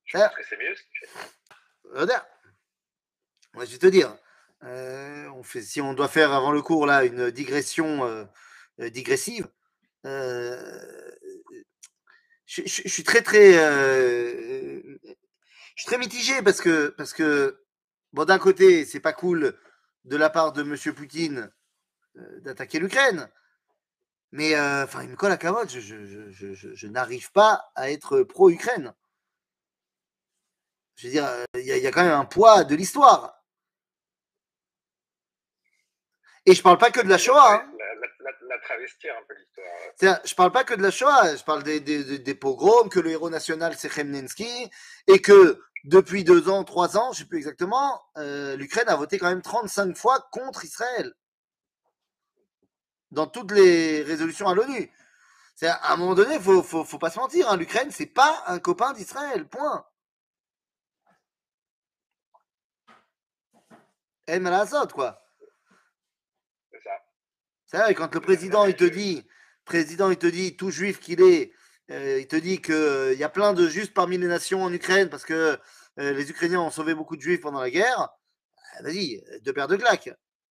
Je pense que c'est mieux ce qu'il fait. Regarde. Je vais te dire, si on doit faire avant le cours là une digression digressive, je suis très mitigé parce que bon, d'un côté c'est pas cool de la part de Monsieur Poutine d'attaquer l'Ukraine, mais il me colle à carotte, je n'arrive pas à être pro-Ukraine. Je veux dire, il y a quand même un poids de l'histoire. Et je parle pas que de la Shoah. Hein. La travestir un peu l'histoire. Je parle pas que de la Shoah, je parle des pogroms, que le héros national c'est Khmelnytsky, et que depuis 2 ans, 3 ans, je sais plus exactement, l'Ukraine a voté quand même 35 fois contre Israël. Dans toutes les résolutions à l'ONU. À un moment donné, faut pas se mentir, hein, l'Ukraine, c'est pas un copain d'Israël, point. El Malazot, quoi. C'est ça. C'est vrai, quand le président, il te dit, tout juif qu'il est, il te dit qu'il y a plein de juifs parmi les nations en Ukraine parce que les Ukrainiens ont sauvé beaucoup de juifs pendant la guerre, vas-y, 2 paires de claques.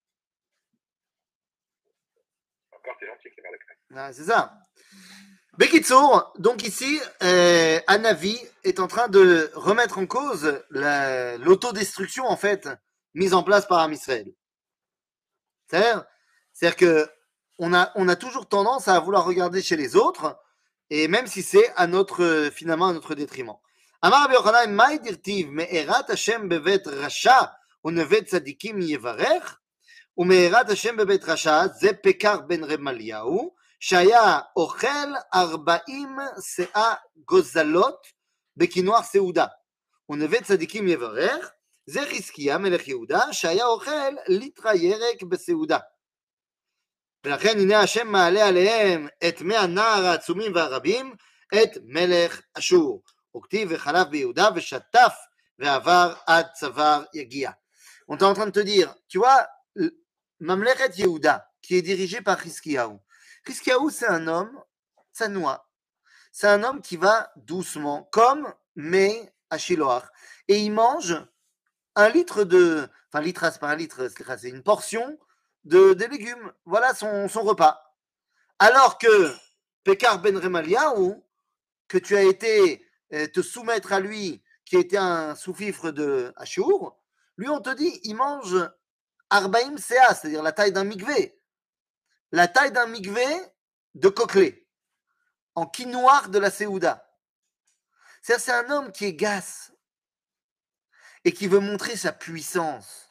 Encore t'es gentil, Clément Leclerc. Ah, c'est ça. Bekitsour, donc ici, Anavi est en train de remettre en cause l'autodestruction, en fait, mise en place par Israël. C'est-à-dire que on a toujours tendance à vouloir regarder chez les autres, et même si c'est finalement à notre détriment. Amar Rabbi Yochanan, Mai dirtiv me'erat Hashem bevet rasha unevet tzadikim yevarech, ומארת השם בבית רשע, זה פקר בן רמליהו, שהיה אוכל 40 שאה גוזלות בקינוח סעודה. ונווה צדיקים יברך, זה חזקיה מלך יהודה, שהיה אוכל ליטרה ירק בסעודה. ולכן הנה השם מעלה עליהם את 100 הנער העצומים והרבים, את מלך אשור. וכתיב וחלף ביהודה ושטף ועבר עד צוואר יגיע. On est en train de te dire, tu vois, Mamlechet Yehuda, qui est dirigé par Hiskiyahu. Hiskiyahu, c'est un homme, ça noie. C'est un homme qui va doucement, comme mais à Shiloach. Et il mange 1 litre de. Enfin, litre, c'est pas 1 litre, c'est une portion de légumes. Voilà son repas. Alors que Pekar ben Remaliahu, que tu as été te soumettre à lui, qui était un sous-fifre de Ashur, lui, on te dit, il mange Arbaïm Sea, c'est-à-dire la taille d'un mikvé. La taille d'un mikvé de Coquelet, en quinoir de la Séouda. C'est un homme qui est gasse et qui veut montrer sa puissance.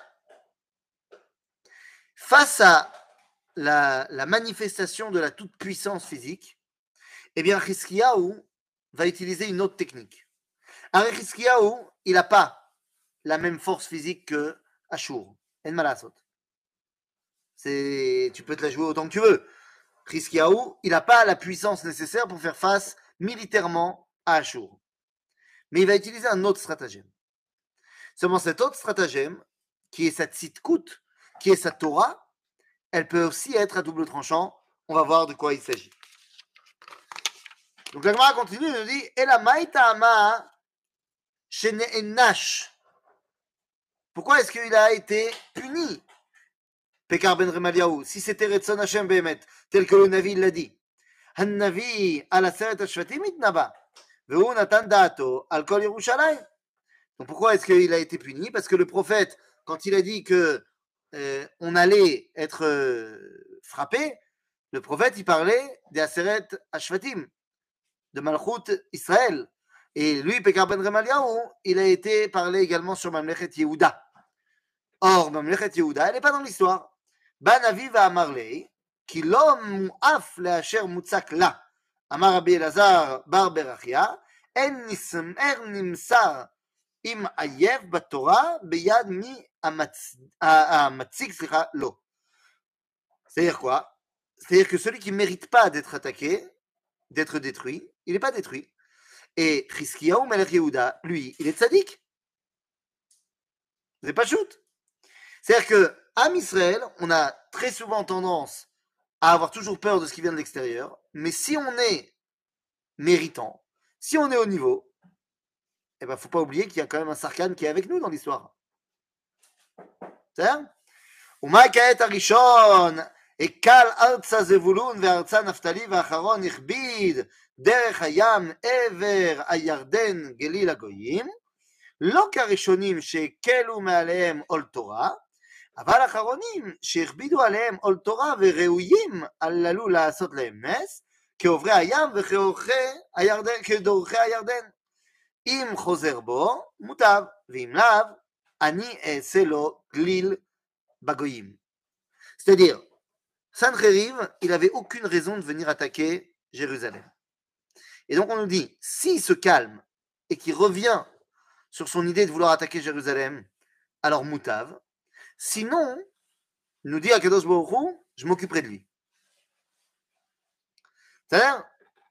Face à la manifestation de la toute-puissance physique, eh bien, Hiskiyahu va utiliser une autre technique. Alors, Hiskiyahu, il n'a pas la même force physique que Ashur. En malasot. Tu peux te la jouer autant que tu veux. Hiskiyahu, il n'a pas la puissance nécessaire pour faire face militairement à Ashur. Mais il va utiliser un autre stratagème. Seulement cet autre stratagème, qui est sa tzidkut, qui est sa Torah, elle peut aussi être à double tranchant. On va voir de quoi il s'agit. Donc la Gemara continue, elle nous dit Ela maïtama shene'enash. Pourquoi est-ce qu'il a été puni, Pekar ben Remaliahu, si c'était Retzon Hashem Behemet, tel que le Navi l'a dit? Han-Navi al Aseret HaShvatim itnaba, ve'hu natan da'ato al kol Yerushalayim. Donc pourquoi est-ce qu'il a été puni? Parce que le prophète, quand il a dit que on allait être frappé, le prophète, il parlait des Aseret HaShvatim, de Malchut Israël. Et lui, Pekar ben Remaliahu, il a été parlé également sur Mamlechet Yehuda. Or, Mamlechet Yehuda, elle n'est pas dans l'histoire. Ban Avi va Amarlei, qui l'homme mu'af le'asher mutzak la. Amar Rabbi Elazar bar Berachia, en nimsar im ayev batorah beyad mi amatzik lo. C'est-à-dire quoi? C'est-à-dire que celui qui ne mérite pas d'être attaqué, d'être détruit, il n'est pas détruit. Et Hiskiyahu Melech Yehuda, lui, il est tzaddik. C'est pas shoot. C'est-à-dire que Am Israël, on a très souvent tendance à avoir toujours peur de ce qui vient de l'extérieur, mais si on est méritant, si on est au niveau, eh ben, faut pas oublier qu'il y a quand même un Sarkhan qui est avec nous dans l'histoire. C'est-à-dire ומה כעת הראשון? הקל ארצה זבולון וארצה נפתלי והאחרון הכביד דרך הים עבר הירדן גליל הגויים, לא כראשונים שהקלו מעליהם עול תורה, אבל האחרונים שהכבידו עליהם עול תורה וראויים עללו לעשות להם נס, כעוברי הים וכדורכי הירדן. אם חוזר בו, מוטב, ואם לאו, אני אעשה לו גליל בגויים. C'est-à-dire, Sancheriv, il n'avait aucune raison de venir attaquer Jérusalem. Et donc on nous dit, s'il se calme et qu'il revient sur son idée de vouloir attaquer Jérusalem, alors moutav. Sinon, nous dit Akadosh Baruch Hu, je m'occuperai de lui. C'est-à-dire,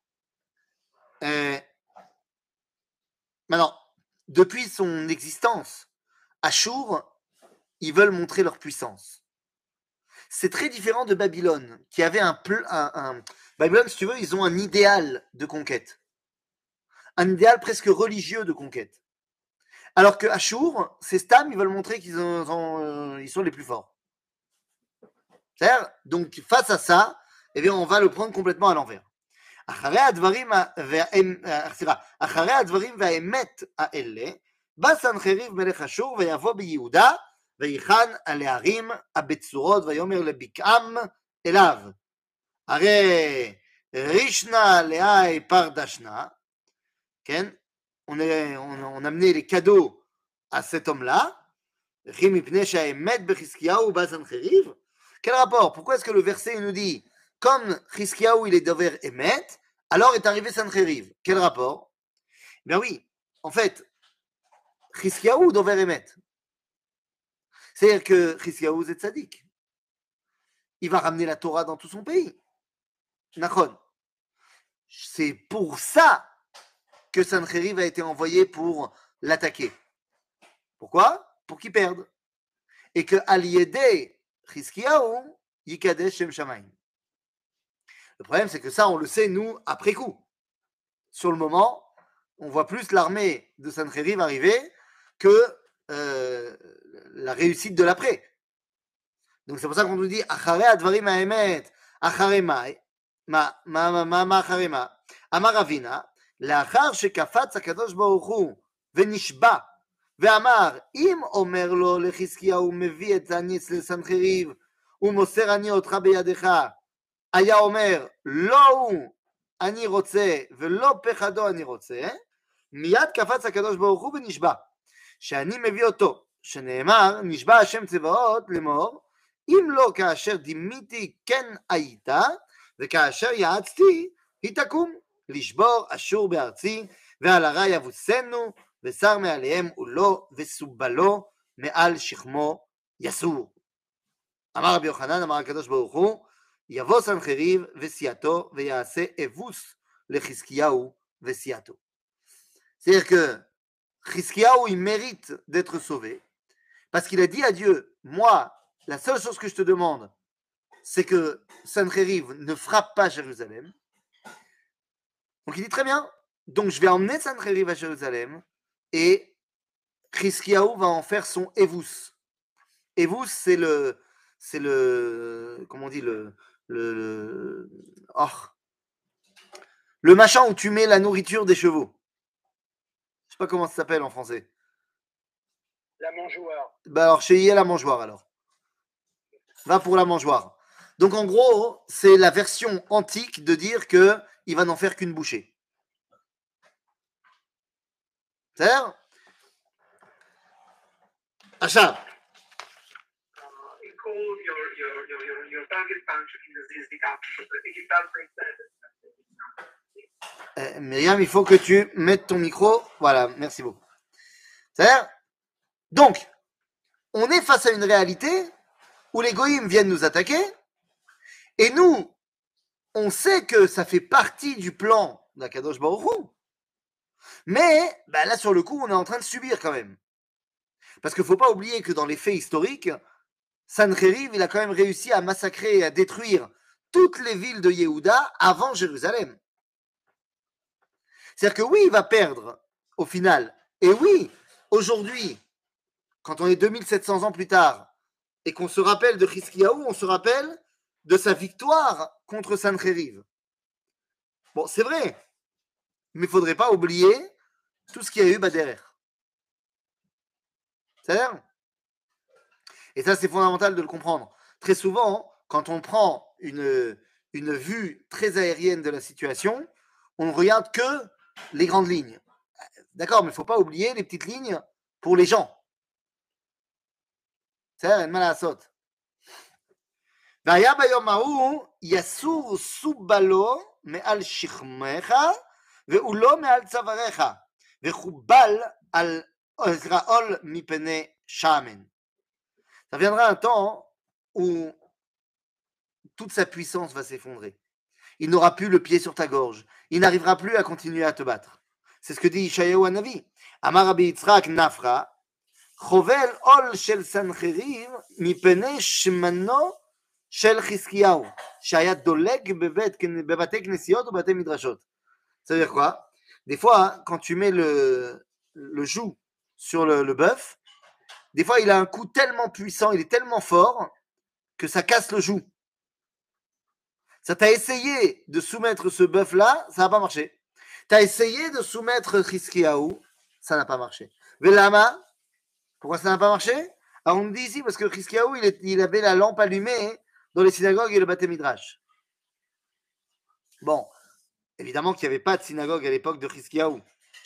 maintenant, depuis son existence, Achour, ils veulent montrer leur puissance. C'est très différent de Babylone, qui avait Babylone, si tu veux, ils ont un idéal de conquête. Un idéal presque religieux de conquête. Alors que Achour, ces Stam, ils veulent montrer qu'ils sont les plus forts. C'est-à-dire, donc face à ça, eh bien, on va le prendre complètement à l'envers. אחרי הדברים והאמת האלה, בא סנחריב מלך אשור ויבוא ביהודה ויחן על הערים הבצורות ויאמר לבקעם אליו. הרי רישנה לאי פרדשנה, כן? On amenait les cadeaux à cet homme-là. Quel rapport? Pourquoi est-ce que le verset nous dit comme Chizkiyahu il est dover Emet, alors est arrivé Sancheriv? Quel rapport? Ben oui, en fait, Chizkiyahu dover Emet. C'est-à-dire que Chizkiyahu c'est tzaddik. Il va ramener la Torah dans tout son pays. Nachon. C'est pour ça que Sancheriv a été envoyé pour l'attaquer. Pourquoi? Pour qu'il perde. Et que Al-Yedei Chizkiyahu Yikadesh Shem Shamayim. Le problème, c'est que ça, on le sait, nous, après coup. Sur le moment, on voit plus l'armée de Sancheriv arriver que la réussite de l'après. Donc c'est pour ça qu'on nous dit Achare advarim ha'emet, achare mai, ma achare ma, Amar Ravina, לאחר שקפץ הקדוש ברוך הוא ונשבע ואמר אם אומר לו לחזקיהו מביא את הניץ לסנחריב ומוסר אני אותך בידך, היה אומר לא הוא אני רוצה ולא פחדו אני רוצה, מיד קפץ הקדוש ברוך הוא ונשבע שאני מביא אותו, שנאמר נשבע השם צבאות לאמור אם לא כאשר דימיתי כן היית וכאשר יעצתי היא תקום לשבור אשור בארצי ועל הרע יבוסנו ושר מעליהם עולו וסובלו מעל שכמו יסור. אמר רבי יוחנן, אמר הקדוש ברוך הוא, יבוא סנחריב וסיעתו ויעשה אבוס לחזקיהו וסיעתו. C'est-à-dire que Chizkiyahu, il mérite d'être sauvé parce qu'il a dit à Dieu, moi, la seule chose que je te demande, c'est que Sancheriv ne frappe pas Jérusalem. Donc il dit très bien, donc je vais emmener Sancheriv à Jérusalem et Chizkiyahu va en faire son Evus. Evus, c'est le, comment on dit, le machin où tu mets la nourriture des chevaux. Je sais pas comment ça s'appelle en français. La mangeoire. Bah alors chez IE la mangeoire alors. Va pour la mangeoire. Donc en gros, c'est la version antique de dire que il va n'en faire qu'une bouchée. C'est-à-dire Achat. Your target function is the capital. I think it does make sense. Myriam, il faut que tu mettes ton micro. Voilà, merci beaucoup. C'est-à-dire, donc, on est face à une réalité où les goïms viennent nous attaquer et nous, on sait que ça fait partie du plan d'Akadosh Baruch Hu. Mais bah là, sur le coup, on est en train de subir quand même. Parce qu'il ne faut pas oublier que dans les faits historiques, Sancheriv, il a quand même réussi à massacrer et à détruire toutes les villes de Yehuda avant Jérusalem. C'est-à-dire que oui, il va perdre, au final, Et oui, aujourd'hui, quand on est 2700 ans plus tard, et qu'on se rappelle de Chizkiyahu, on se rappelle de sa victoire contre Sancheriv. Bon, c'est vrai, mais il ne faudrait pas oublier tout ce qu'il y a eu derrière. C'est-à-dire, et ça, c'est fondamental de le comprendre. Très souvent, quand on prend une vue très aérienne de la situation, on ne regarde que les grandes lignes. D'accord, mais il ne faut pas oublier les petites lignes pour les gens. C'est-à-dire, mal à la saute. והיה ביום ההוא יסור סובלו מעל שכמך ועולו מעל צוואריך וחובל על עול מפני שמן. Ça viendra un temps où toute sa puissance va s'effondrer. Il n'aura plus le pied sur ta gorge. Il n'arrivera plus à continuer à te battre. C'est ce que dit Ishayahu Hanavi. Amar Rabbi Yitzhak Nafra, chovel ol shel Sancheriv mipene shmano shel Chizkiyahu, shaya doleg bebate knesiot ou bate midrashot. Ça veut dire quoi? Des fois, quand tu mets le joug sur le bœuf, des fois, il a un coup tellement puissant, il est tellement fort que ça casse le joug. Ça t'a essayé de soumettre ce bœuf-là, ça n'a pas marché. Tu as essayé de soumettre Chizkiyahu, ça n'a pas marché. Velama, pourquoi ça n'a pas marché? Alors on me dit ici parce que Chizkiyahu, il avait la lampe allumée dans les synagogues et le Bate Midrash. Bon, évidemment qu'il n'y avait pas de synagogue à l'époque de Chizkiyahu.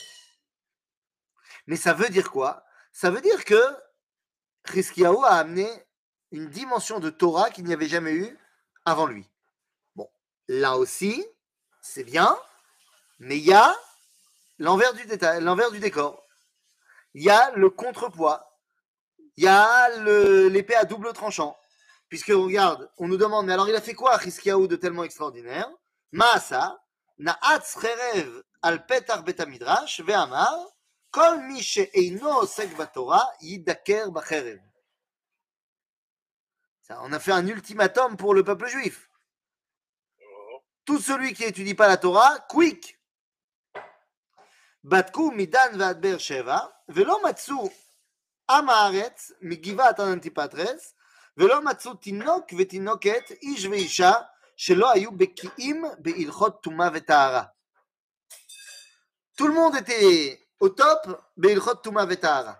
Mais ça veut dire quoi? Ça veut dire que Chizkiyahu a amené une dimension de Torah qu'il n'y avait jamais eu avant lui. Bon, là aussi, c'est bien, mais il y a l'envers du décor. Il y a le contrepoids. Il y a l'épée à double tranchant. Puisque, regarde, on nous demande, mais alors il a fait quoi, Chizkiyahu, de tellement extraordinaire? Maasa, na'atz cherev al petar bet midrash ve'amar, kol mi she'eino osek batorah yidaker bacherev. On a fait un ultimatum pour le peuple juif. Tout celui qui n'étudie pas la Torah, quick. בדקו מדן ועד באר שבע, ולא מצאו עם הארץ מגבעת אנטיפטרס, ולא מצאו תינוק ותינוקת, איש ואישה, שלא היו בקיאים בהלכות טומאה וטהרה. Tout le monde était au top בהלכות טומאה וטהרה.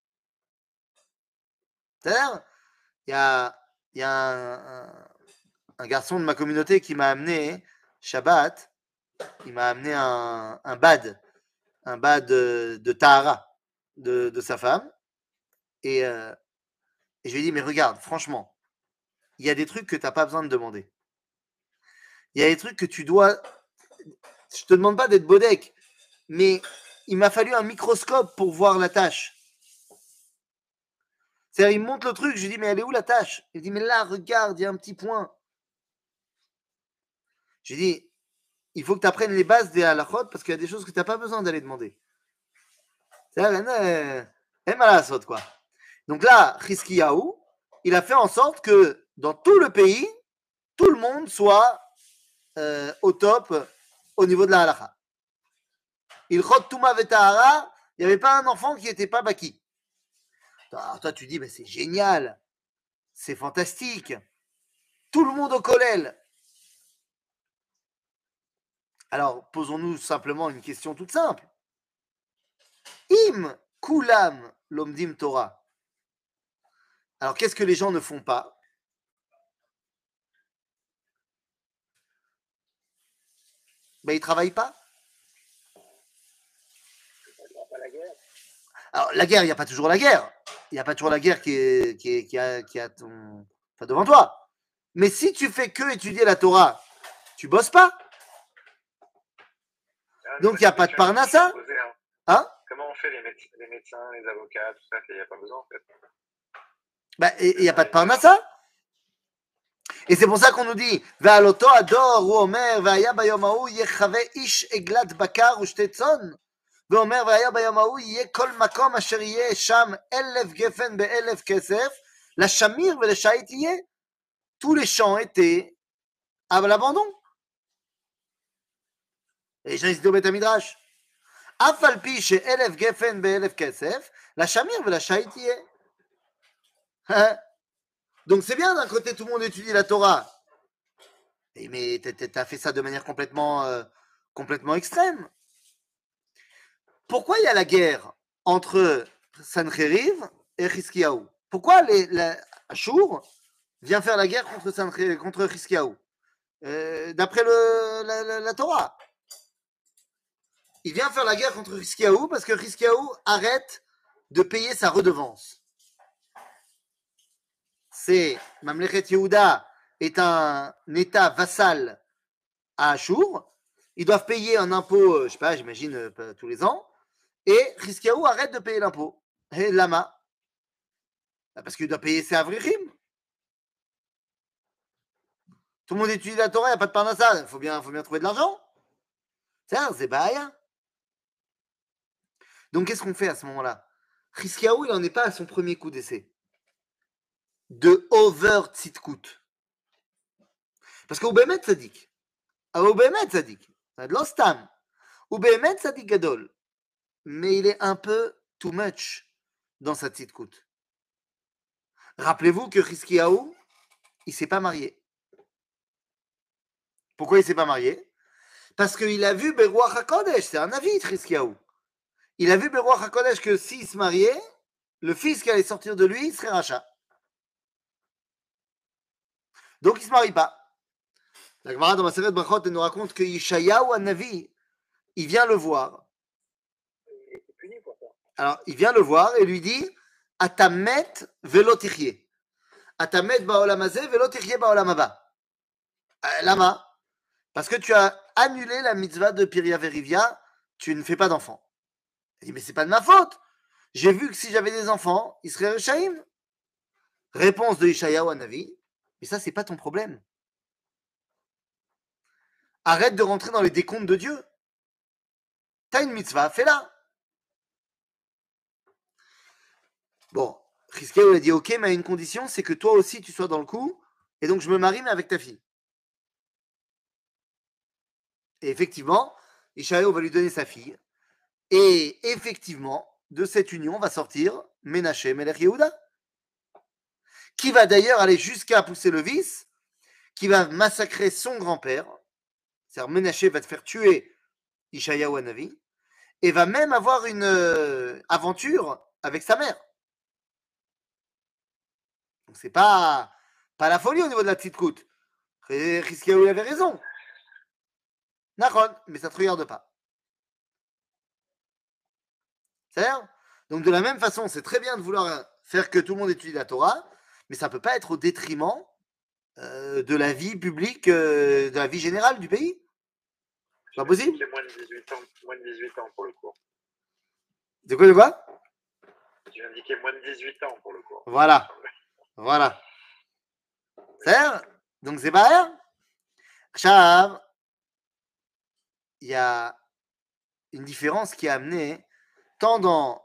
C'est-à-dire, il y a un garçon de ma communauté qui m'a amené Shabbat, il m'a amené un bad de Tahara de sa femme. Et je lui ai dit, mais regarde, franchement, il y a des trucs que tu n'as pas besoin de demander. Il y a des trucs que tu dois... Je te demande pas d'être bodek, mais il m'a fallu un microscope pour voir la tâche. C'est-à-dire, il me montre le truc, je lui dis, mais elle est où la tâche? Il dit, mais là, regarde, il y a un petit point. J'ai dit, il faut que tu apprennes les bases des halachot parce qu'il y a des choses que tu n'as pas besoin d'aller demander. C'est-à-dire, quoi. Donc là, Chizkiyahu, il a fait en sorte que dans tout le pays, tout le monde soit au top au niveau de la halacha. Ilchot Tuma Vetahara, il n'y avait pas un enfant qui n'était pas baki. Alors toi, tu dis, c'est génial, c'est fantastique. Tout le monde au kollel. Alors, posons-nous simplement une question toute simple. Im kulam lomdim Torah. Alors, qu'est-ce que les gens ne font pas? Ils ne travaillent pas. Alors, la guerre, il n'y a pas toujours la guerre. Il n'y a pas toujours la guerre qui a devant toi. Mais si tu fais que étudier la Torah, tu bosses pas. Donc, il n'y a pas de parnassa. Hein? Comment on fait les médecins, les avocats, tout ça, qu'il n'y a pas besoin en fait. Il n'y a pas de parnassa. Et c'est pour ça qu'on nous dit Ve'aloto ador ou omer ve'aya bayom ha'u yechave ish eglat bakar ou shte tzon. ואומר והיה ביום ההוא יהיה כל מקום אשר יהיה שם 1000 גפן ב1000 כסף לשמיר ולשייט יהיה. Tous les champs étaient à l'abandon. Et les gens étaient au Beth Midrash. אף על פי שאלף גפן באלף כסף, la shamir ve la shaïtiye. Donc c'est bien d'un côté tout le monde étudie la Torah. Mais t'as fait ça de manière complètement extrême. Pourquoi il y a la guerre entre Sancheriv et Chizkiyahu? Pourquoi Ashur vient faire la guerre contre Chizkiyahu d'après la Torah? Il vient faire la guerre contre Chizkiyahu parce que Chizkiyahu arrête de payer sa redevance. C'est Mamlechet Yehuda est un état vassal à Ashur. Ils doivent payer un impôt, je sais pas, j'imagine tous les ans. Et Chizkiyahu arrête de payer l'impôt. Et lama, parce qu'il doit payer ses avrichim. Tout le monde étudie la Torah, il n'y a pas de parnassa. Il faut bien trouver de l'argent. C'est baïa. Donc qu'est-ce qu'on fait à ce moment-là? Chizkiyahu, il n'en est pas à son premier coup d'essai. De over tzidkut. Parce qu'au Bémet Tzadik, l'ostam, au Bémet Tzadik Gadol, mais il est un peu too much dans sa tzidkut. Rappelez-vous que Chizkiyahu, il ne s'est pas marié. Pourquoi il ne s'est pas marié? Parce qu'il a vu Beruach HaKodesh, c'est un avis, Chizkiyahu. Il a vu Beruach HaKodesh que s'il se mariait, le fils qui allait sortir de lui serait rachat. Donc il ne se marie pas. La Gemara dans Maseret Brachot nous raconte que Yeshayahu Hanavi, il vient le voir. Il était puni pour ça. Alors il vient le voir et lui dit Atamet velo tichye. Atamet ba'olam hazeh velo tichye ba'olam haba. Lama, parce que tu as annulé la mitzvah de Piria Verivia, tu ne fais pas d'enfants. Il dit mais c'est pas de ma faute. J'ai vu que si j'avais des enfants, ils seraient Rechaïm. Réponse de Yeshayahu Hanavi, mais ça c'est pas ton problème. Arrête de rentrer dans les décomptes de Dieu. T'as une mitzvah, fais-la. Bon, Chizkiyahu a dit ok, mais à une condition, c'est que toi aussi tu sois dans le coup, et donc je me marie, mais avec ta fille. Et effectivement, Yeshayahu va lui donner sa fille, et effectivement, de cette union va sortir Ménaché Melech Yehuda, qui va d'ailleurs aller jusqu'à pousser le vice, qui va massacrer son grand-père. C'est-à-dire Ménaché va te faire tuer Yeshayahu Hanavi, et va même avoir une aventure avec sa mère. Donc c'est pas la folie au niveau de la petite coute. Chizkiyahu avait raison. Nachon, mais ça ne te regarde pas. C'est-à-dire, donc de la même façon, c'est très bien de vouloir faire que tout le monde étudie la Torah, mais ça ne peut pas être au détriment de la vie publique, de la vie générale du pays. C'est pas possible. C'est moins de 18 ans pour le cours. De quoi? Tu indiquais moins de 18 ans pour le cours. Voilà. C'est-à-dire, donc c'est pas rien. Chav, il y a une différence qui est amenée tant dans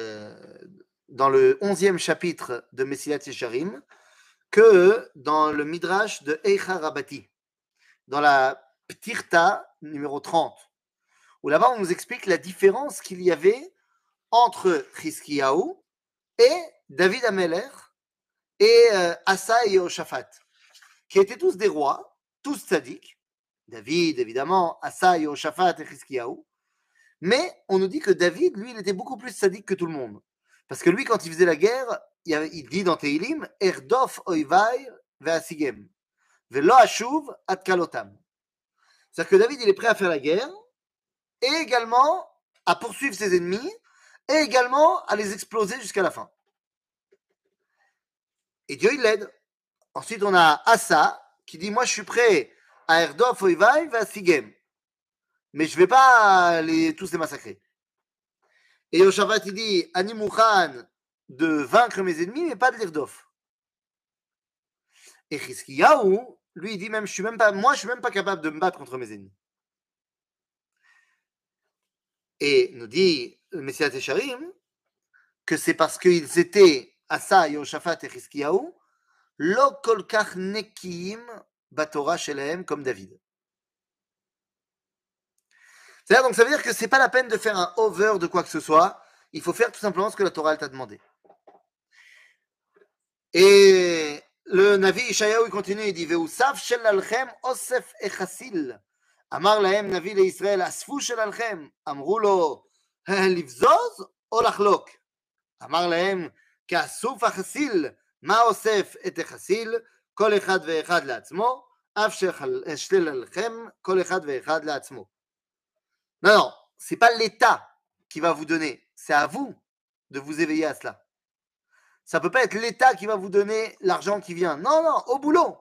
le 11e chapitre de Mesilat Yesharim que dans le Midrash de Eicha Rabati, dans la Ptirta numéro 30, où là-bas on nous explique la différence qu'il y avait entre Chizkiyahu et David Amelech et Asa et Yehoshaphat, qui étaient tous des rois, tous tzaddik, David évidemment, Asa, Yehoshaphat et Chizkiyahu, mais on nous dit que David, lui, il était beaucoup plus tzaddik que tout le monde, parce que lui, quand il faisait la guerre, il dit dans Tehilim, Erdof oivai ve'asigem, ve'lo ashuv ad kalotam. C'est-à-dire que David, il est prêt à faire la guerre, et également à poursuivre ses ennemis, et également à les exploser jusqu'à la fin. Et Dieu, il l'aide. Ensuite, on a Asa, qui dit, moi, je suis prêt à Erdof oivai ve'asigem, mais je ne vais pas tous les massacrer. Et Yehoshaphat, il dit, Ani Mouchan, de vaincre mes ennemis, mais pas de l'Irdof. Et Chizkiyahu, lui, il dit même, je suis même pas capable de me battre contre mes ennemis. Et nous dit le Mesilat Yesharim que c'est parce qu'ils étaient Asa, Yehoshaphat et Chizkiyahu, lo kol kach nekiim batorah shelahem comme David. C'est-à-dire, donc ça veut dire que c'est pas la peine de faire un over de quoi que ce soit. Il faut faire tout simplement ce que la Torah t'a demandé. Et le Navi Ishayahu, il continue, il dit Ve'usav shel alchem osef echasil. Amar lahem Navi leIsraël asfu shel alchem. Amru lo livzoz o lachlok. אמר להם, כאסוף החסיל, מה אוסף את החסיל? כל אחד ואחד לעצמו, אף ששלל עליכם, כל אחד ואחד לעצמו. Non, non, c'est pas l'État qui va vous donner, c'est à vous de vous éveiller à cela. Ça peut pas être l'État qui va vous donner l'argent qui vient. Non, non, au boulot.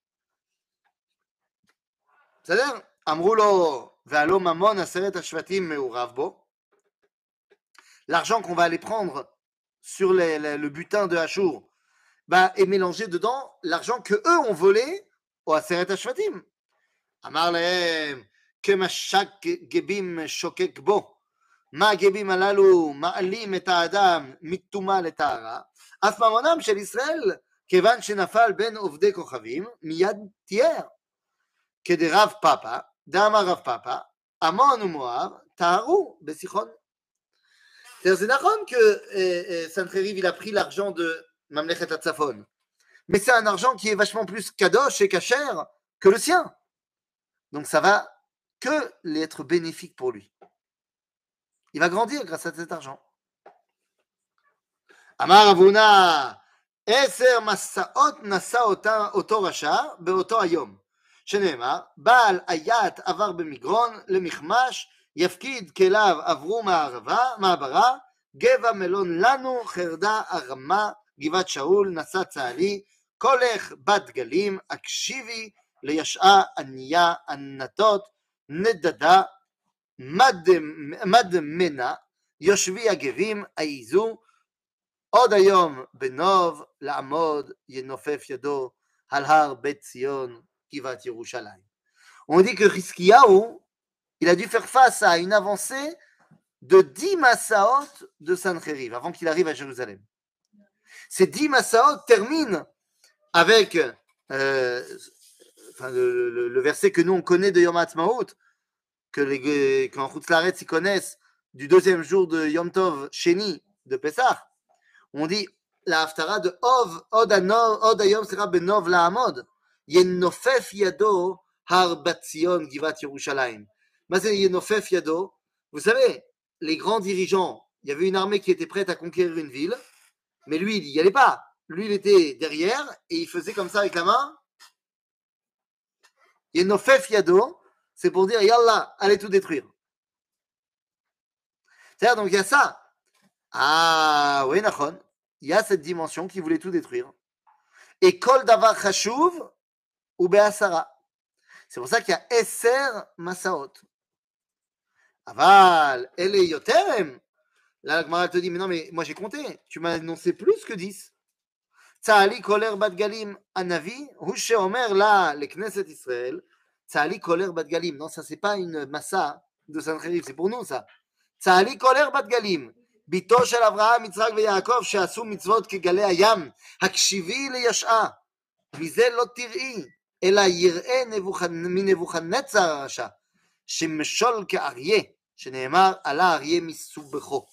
C'est-à-dire, אמרו לו, והלא ממון 10 השבטים מעורב בו. L'argent qu'on va aller prendre sur le butin de Hachour, bah, est mélangé dedans l'argent que eux ont volé au Aseret HaShvatim. Amar lehem, kemashak gebim shokek bo, ma gebim alalu ma'alim et ha'adam mituma letara, af mamonam shel Israël, kevan shenafal ben ovdei kochavim, miyad tier, kede Rav Papa, d'amar Rav Papa, Amon ou Moab, taharu besichon. C'est d'accord que Sancheriv il a pris l'argent de Mamlechet Hatzafon, mais c'est un argent qui est vachement plus kadosh et kasher que le sien. Donc ça va que être bénéfique pour lui. Il va grandir grâce à cet argent. Amar Avuna, Eser Masaot Nasa Oto Rasha Beoto Ayom. שנאמר, בעל היית עבר במגרון למיחמש, יפקיד כליו עברו מעברה, גבע מלון לנו, חרדה הרמה, גבעת שאול, נשא צהלי, קולך בת גלים, הקשיבי לישעה ענייה, ענתות, נדדה, מדמנה, יושבי הגבים, העיזו, עוד היום בנוב לעמוד, ינופף ידו על הר בית ציון, Kivat Yerushalayim. On dit que Hiskiyahu, il a dû faire face à une avancée de 10 Masaot de Sancheriv avant qu'il arrive à Jérusalem. Ces 10 Masaot terminent avec le verset que nous on connaît de Yom HaAtzmaut, que quand Chutz Laaretz ils connaissent du deuxième jour de Yom Tov Sheni de Pessah. On dit la Haftara de Od Hayom sera Benov La'amod. Yenofef Yado Har Bat Zion Givat Yerushalayim. Mazé Yenofef Yado. Vous savez, les grands dirigeants, il y avait une armée qui était prête à conquérir une ville, mais lui, il n'y allait pas. Lui, il était derrière et il faisait comme ça avec la main. Yenofef Yado, c'est pour dire Yallah, allez tout détruire. C'est-à-dire, donc il y a ça. Ah, oui, Nachon. Il y a cette dimension qui voulait tout détruire. Et Kol Davar Chashuv, ou Be'asara. C'est pour ça qu'il y a Esser Masaot. Aval, elle est Yoterem. Là, la Gemara te dit, mais non, mais moi j'ai compté. Tu m'as annoncé plus que 10. Tzahali Koler Bat Galim Anavi, Hushe Omer là, le Knesset Israël. Tzahali Koler Bat Galim. Non, ça c'est pas une massa de Sancheriv, c'est pour nous ça. Tzahali Koler Bat Galim. ביתו של אברהם, יצחק ויעקב שעשו מצוות כגלי הים, הקשיבי לישעה, מזה לא תראי, אלא יראה מנבוכדנצר הרשע, שמשול כאריה, שנאמר עלה אריה מסובכו.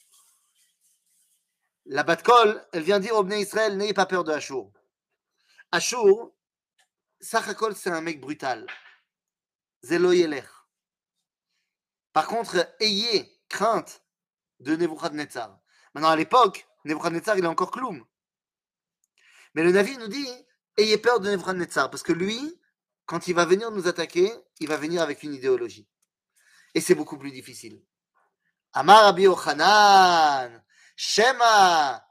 La Bat-Kol, elle vient dire aux Bnei Israël, n'ayez pas peur de Achour. Achour, Sachakol, c'est un mec brutal. Zelo Yelech. Par contre, ayez crainte de Nebuchadnezzar. Maintenant, à l'époque, Nebuchadnezzar, il est encore Kloum. Mais le Navi nous dit, ayez peur de Nebuchadnezzar, parce que lui, quand il va venir nous attaquer, il va venir avec une idéologie. Et c'est beaucoup plus difficile. Amar Rabbi Yochanan, Shema,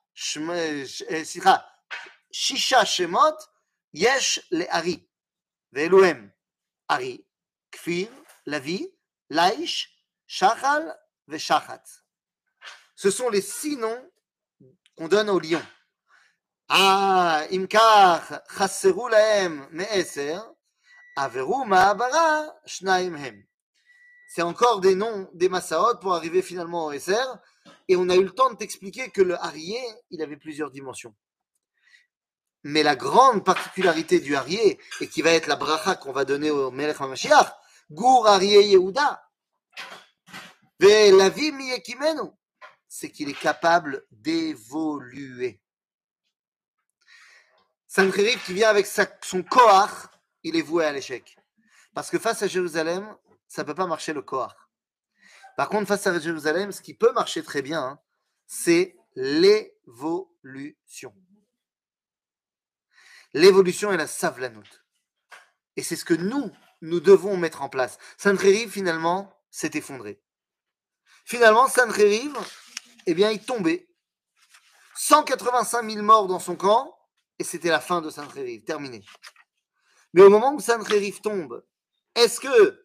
Shisha Shemot, Yesh le Ari, Ve'eluhem, Ari, Kfir, Lavi, Laish, Shachal, Ve'Shachatz. Ce sont les 6 noms qu'on donne aux lions. Ah, Imkar, Chasseru Lahem, Me'eser, Averu Ma'abara, Shnaim Hem. C'est encore des noms des Masaot pour arriver finalement au Eser. Et on a eu le temps de t'expliquer que le Arié, il avait plusieurs dimensions. Mais la grande particularité du Arié, et qui va être la bracha qu'on va donner au Melech HaMashiach, Gour Arié Yehuda, La vie miyekimenu, c'est qu'il est capable d'évoluer. Sancheriv qui vient avec son Koach, il est voué à l'échec. Parce que face à Jérusalem, ça ne peut pas marcher le Koach. Par contre, face à Jérusalem, ce qui peut marcher très bien, hein, c'est l'évolution. L'évolution est la savlanout. Et c'est ce que nous devons mettre en place. Sancheriv, finalement, s'est effondré. Finalement, Sancheriv, eh bien, il tombait. 185 000 morts dans son camp, et c'était la fin de Sancheriv, terminé. Mais au moment où Sancheriv tombe, est-ce que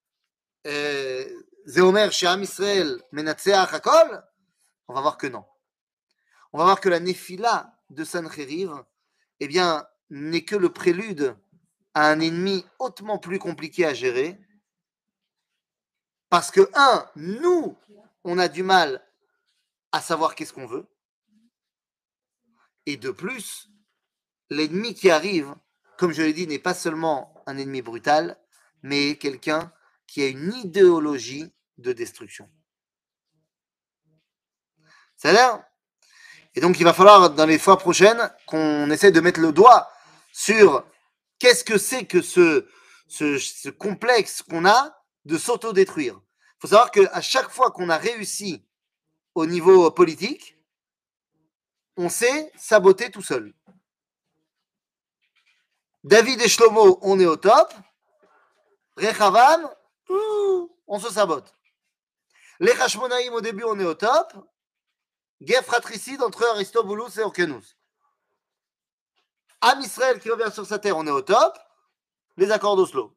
Zéomer chez Am Israël Menatseach Hakol? On va voir que non. On va voir que la Néphila de Sancheriv, eh bien, n'est que le prélude à un ennemi hautement plus compliqué à gérer. Parce que, nous, on a du mal à savoir qu'est-ce qu'on veut. Et de plus, l'ennemi qui arrive, comme je l'ai dit, n'est pas seulement un ennemi brutal, mais quelqu'un qui a une idéologie de destruction. Ça a l'air? Et donc, il va falloir, dans les fois prochaines, qu'on essaie de mettre le doigt sur qu'est-ce que c'est que ce complexe qu'on a de s'autodétruire. Il faut savoir qu'à chaque fois qu'on a réussi au niveau politique, on s'est saboté tout seul. David et Shlomo, on est au top. Rechavam, on se sabote. Les Hashmonaïm, au début, on est au top. Guerre fratricide entre Aristobulus et Orkenus. Am Israël qui revient sur sa terre, on est au top. Les accords d'Oslo.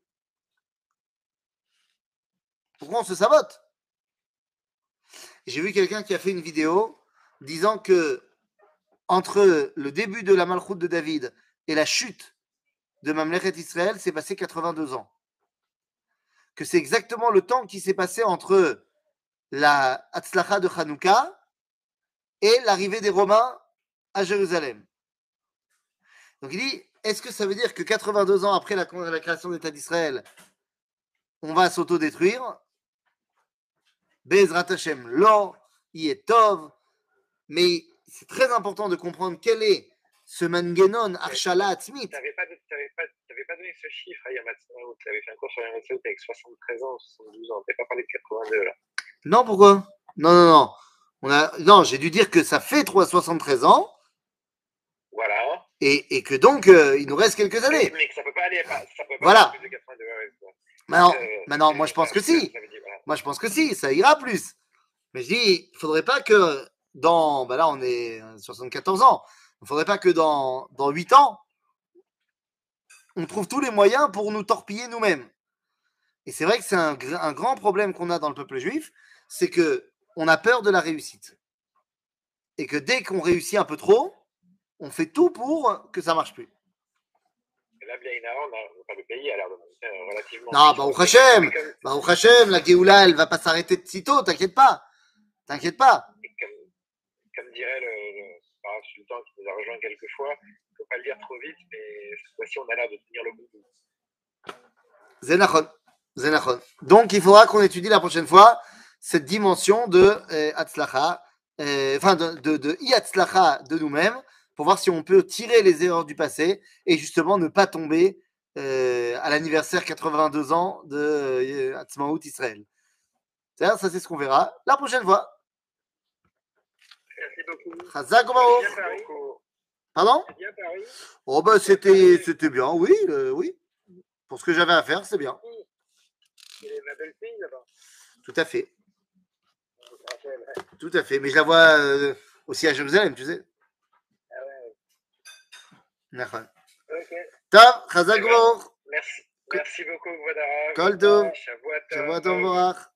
Pourquoi on se sabote? J'ai vu quelqu'un qui a fait une vidéo disant que entre le début de la Malchoute de David et la chute de Mamlechet Israël, s'est passé 82 ans. Que c'est exactement le temps qui s'est passé entre la Hatzlacha de Hanouka et l'arrivée des Romains à Jérusalem. Donc il dit, est-ce que ça veut dire que 82 ans après la création de l'État d'Israël, on va s'autodétruire? Bezrat Hashem, lo, Yetov. Mais c'est très important de comprendre quel est ce mangenon Arshala Atzmit. Tu n'avais pas donné ce chiffre à Yamatsmaout. Tu avais fait un cours sur Yamatsmaout avec 73 ans, 72 ans. Tu n'avais pas parlé de 82 là. Non, pourquoi? Non. Non, j'ai dû dire que ça fait 73 ans. Voilà. Et que donc, il nous reste quelques années. Mais que ça ne peut pas aller, voilà. Plus de 82. Maintenant, moi je pense que si. Moi je pense que si, ça ira plus. Mais je dis, il ne faudrait pas que dans. Là, on est 74 ans. Il ne faudrait pas que dans 8 ans, on trouve tous les moyens pour nous torpiller nous-mêmes. Et c'est vrai que c'est un grand problème qu'on a dans le peuple juif, c'est qu'on a peur de la réussite. Et que dès qu'on réussit un peu trop, on fait tout pour que ça ne marche plus. Là, bien évidemment, le pays a l'air de monter relativement. Non, Baruch Hashem, la Géoula, elle ne va pas s'arrêter de sitôt, t'inquiète pas. Et comme dirait le sultan qui nous a rejoint quelques fois, il ne faut pas le dire trop vite, mais cette fois-ci, on a l'air de tenir le bout. Zenachon. Donc, il faudra qu'on étudie la prochaine fois cette dimension de Hatzlacha, de Yatzlacha de nous-mêmes, pour voir si on peut tirer les erreurs du passé et justement ne pas tomber à l'anniversaire 82 ans de Hatzmaout Israël. Ça, c'est ce qu'on verra la prochaine fois. Merci beaucoup. Chazak Baruch. Pardon? Bien Paris. Oh ben c'était bien, oui. Pour ce que j'avais à faire, c'est bien. C'est ma belle fille là-bas. Tout à fait. Tout à fait. Mais je la vois aussi à Jérusalem, tu sais. Ah ouais. D'accord. Ok. Top, Chazak Baruch. Merci beaucoup, Vodara. Kol Tov. Shavua Shavua Tov Vorach.